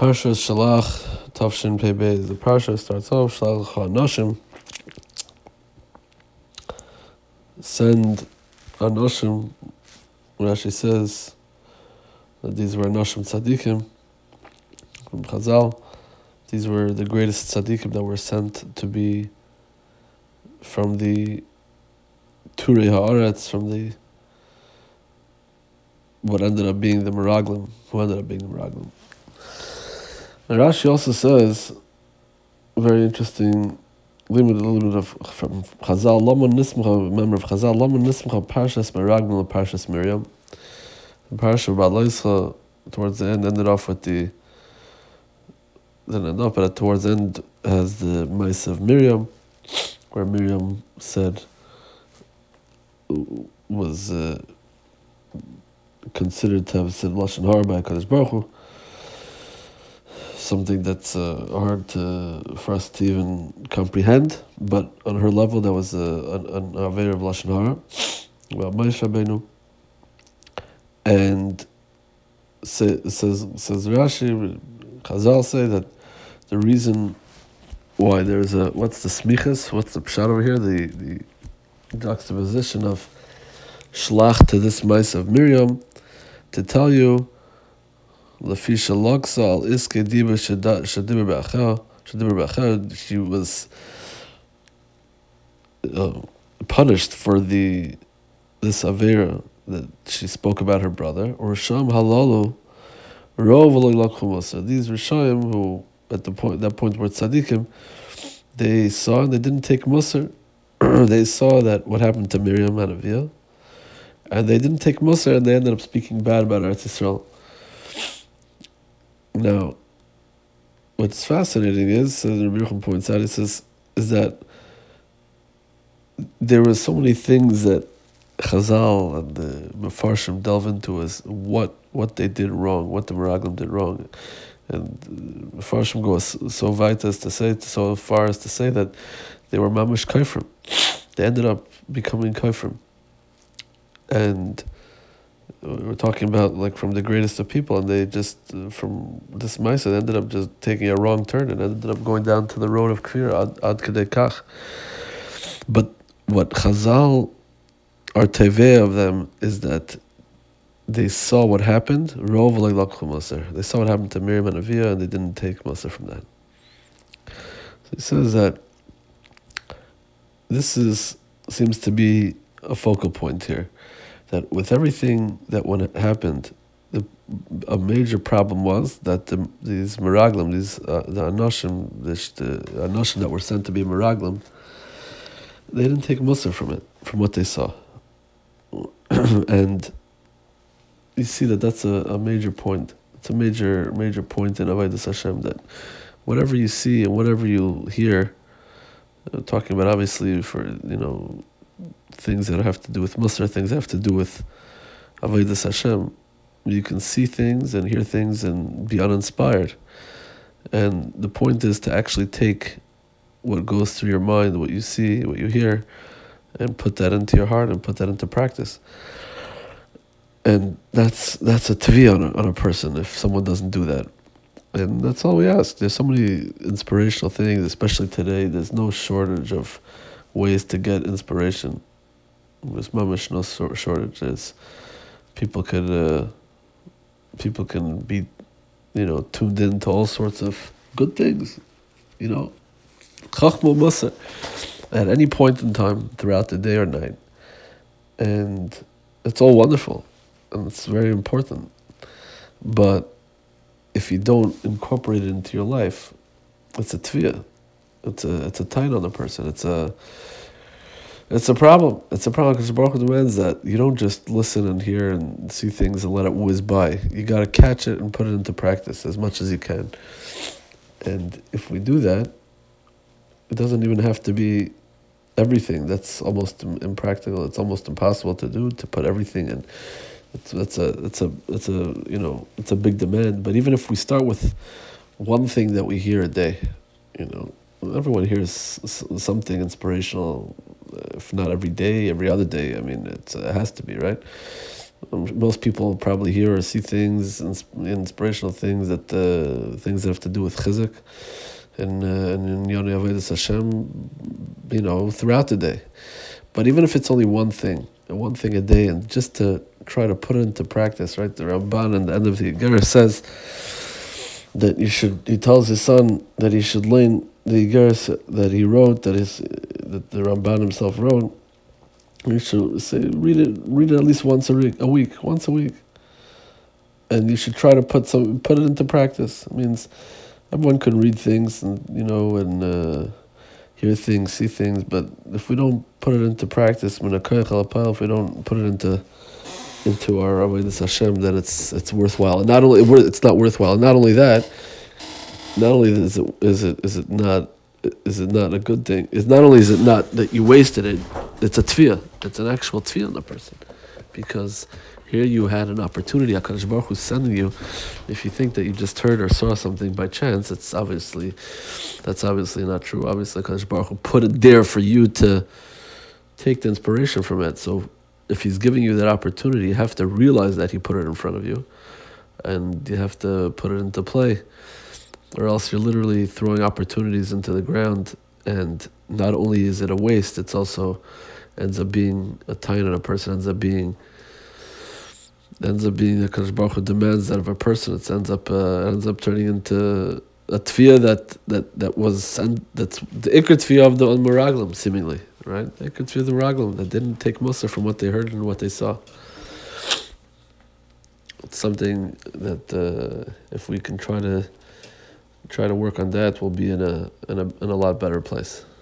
Parshas Shalach Tavshin Pei Beis. The parsha starts off Shalach Anoshim. Send Anoshim. Rashi says that these were Anoshim Tzadikim from Chazal. These were the greatest Tzadikim that were sent to be from the Turei Haaretz, from the what ended up being the Meraglim, who ended up being the Meraglim. And Rashi also says, very interesting, a little bit of from Chazal, Lama Nismcha, member of Chazal, Lama Nismcha, Parshas Meraglim, and Parshas Miriam. The Parsha of Ba'alaischa, towards the end, ended off with the, didn't end off, but towards the end has the Maisa of Miriam, where Miriam said, was considered to have said Lashon Hara by HaKadosh Baruch Hu, something that's hard for us to even comprehend, but on her level that was an Aveir of Lashon Hara, about Moshe Rabbeinu, and says Rashi, Chazal say that the reason why there's what's the smichas, what's the pshat over here, the juxtaposition of Shlach to this mice of Miriam, to tell you Lafisha Loksa al Iske Diba Shadibir Ba'achar, she was punished for this Avera that she spoke about her brother, or Sham Halalu Rov. These Rishayim who at that point were tzaddikim, they saw and they didn't take Musar. They saw that what happened to Miriam and Aviyah, and they didn't take Musar, and they ended up speaking bad about Eretz Yisrael. Now, what's fascinating is, as Rabbi Yochanan points out, he says, is that there were so many things that Chazal and the Mefarshim delve into as what they did wrong, what the Meraglim did wrong. And Mefarshim go so far as to say that they were mamish kaifrim. They ended up becoming kaifrim. And we're talking about like from the greatest of people, and they just, from this Maisa, they ended up just taking a wrong turn and ended up going down to the road of Kfir, ad kedei kach. But what Chazal are teveh of them is that they saw what happened, they saw what happened to Miriam and Aviyah, and they didn't take Musar from that. So he says that this seems to be a focal point here, that with everything that when it happened, a major problem was that these Meraglim, the Anoshim that were sent to be Meraglim, they didn't take Musar from it, from what they saw. And you see that that's a major point. It's a major point in Avodas Hashem, that whatever you see and whatever you hear, talking about obviously for things that have to do with Musar, things that have to do with Avodas Hashem, you can see things and hear things and be uninspired. And the point is to actually take what goes through your mind, what you see, what you hear, and put that into your heart and put that into practice. And that's a tvi on a person if someone doesn't do that. And that's all we ask. There's so many inspirational things, especially today. There's no shortage of ways to get inspiration. There's mamish no shortage. People can be, tuned in to all sorts of good things. Chachma Musar at any point in time throughout the day or night. And it's all wonderful. And it's very important. But if you don't incorporate it into your life, it's a tviyah. It's a tain on the person. It's a problem. It's a problem because Baruch Hu demands that you don't just listen and hear and see things and let it whiz by. You got to catch it and put it into practice as much as you can. And if we do that, it doesn't even have to be everything. That's almost impractical. It's almost impossible to do, to put everything in. It's a big demand. But even if we start with one thing that we hear a day, everyone hears something inspirational, if not every day, every other day. I mean, it has to be, right? Most people probably hear or see things, inspirational things things that have to do with chizuk and in Yonei Avodas Hashem, throughout the day. But even if it's only one thing a day, and just to try to put it into practice, right? The Ramban at the end of the Igeres says that he tells his son that he should learn the Igeres that he wrote, that the Ramban himself wrote. You should read it at least once a week, and you should try to put it into practice. It means everyone can read things and hear things, see things, but if we don't put it into practice, if we don't put it into our avodas Hashem, then it's worthwhile. And not only it's not worthwhile. Not only that, not only is it not a good thing. It's not only is it not that you wasted it. It's a tefillah. It's an actual tefillah in the person, because here you had an opportunity. HaKadosh Baruch Hu is sending you. If you think that you just heard or saw something by chance, that's obviously not true. Obviously, HaKadosh Baruch Hu put it there for you to take the inspiration from it. So if He's giving you that opportunity, you have to realize that He put it in front of you, and you have to put it into play, or else you're literally throwing opportunities into the ground. And not only is it a waste, it's also ends up being a taina. A person ends up being HaKadosh Baruch Hu demands that of a person. It ends up turning into a tefillah that's the ikar tefillah of the Meraglim, seemingly, right? The ikar tefillah of the Meraglim that didn't take mussar from what they heard and what they saw. It's something that if we can try to work on that, we'll be in a lot better place.